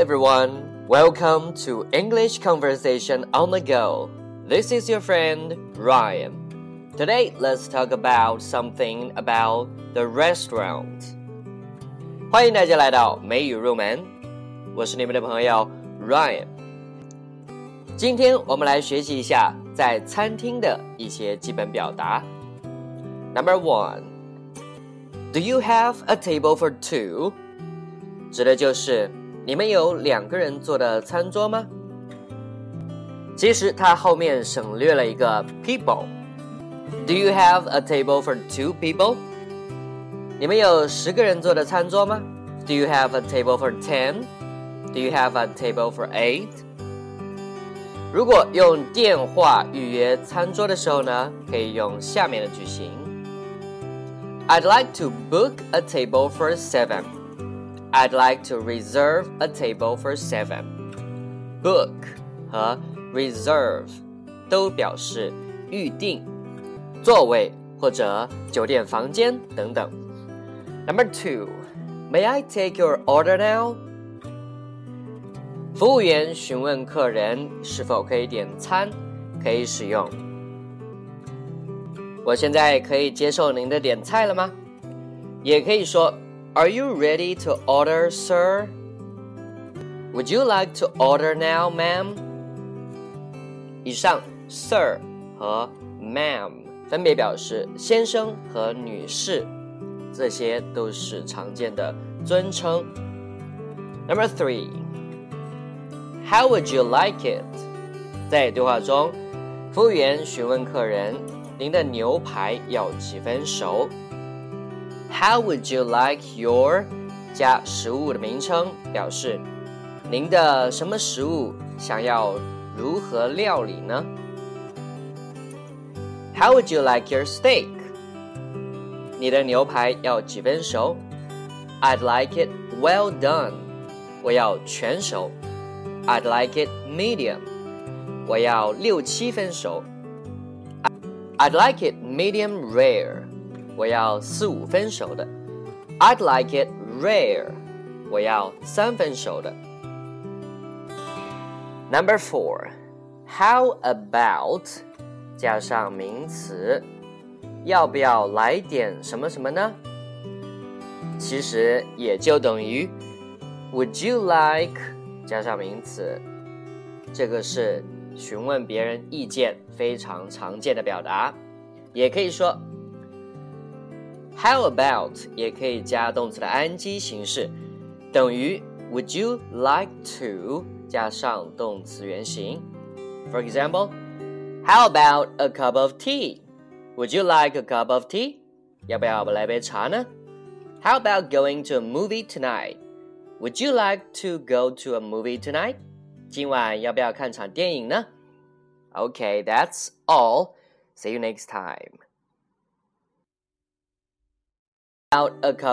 everyone, welcome to English Conversation on the Go. This is your friend Ryan. Today, let's talk about something about the restaurant. 欢迎大家来到美语入门，我是你们的朋友 Ryan。今天我们来学习一下在餐厅的一些基本表达。Number 1, Do you have a table for two? 指的就是你们有2个人坐的餐桌吗？其实它后面省略了一个 people。Do you have a table for two people? 你们有10个人坐的餐桌吗？ Do you have a table for 10? Do you have a table for 8? 如果用电话预约餐桌的时候呢，可以用下面的句型。I'd like to book a table for 7.I'd like to reserve a table for 7. Book 和 reserve 都表示预定、座位或者酒店房间等等。Number 2, May I take your order now? 服务员询问客人是否可以点餐，可以使用我现在可以接受您的点菜了吗？也可以说Are you ready to order, sir? Would you like to order now, ma'am? 以上 sir 和 ma'am 分别表示先生和女士，这些都是常见的尊称。Number 3, How would you like it? 在对话中，服务员询问客人，您的牛排要几分熟？How would you like your 加食物的名称，表示您的什么食物想要如何料理呢？ How would you like your steak? 你的牛排要几分熟？ I'd like it well done. 我要全熟。I'd like it medium. 我要6-7分熟。I'd like it medium rare.我要4-5分熟的。I'd like it rare. 我要3分熟的。Number 4, How about 加上名词，要不要来点什么什么呢？其实也就等于 Would you like 加上名词，这个是询问别人意见非常常见的表达，也可以说How about 也可以加动词的 ing 形式，等于 Would you like to 加上动词原形。For example, How about a cup of tea? Would you like a cup of tea? 要不要来杯茶呢？ How about going to a movie tonight? Would you like to go to a movie tonight? 今晚要不要看场电影呢？ Okay, that's all. See you next time.Out a cup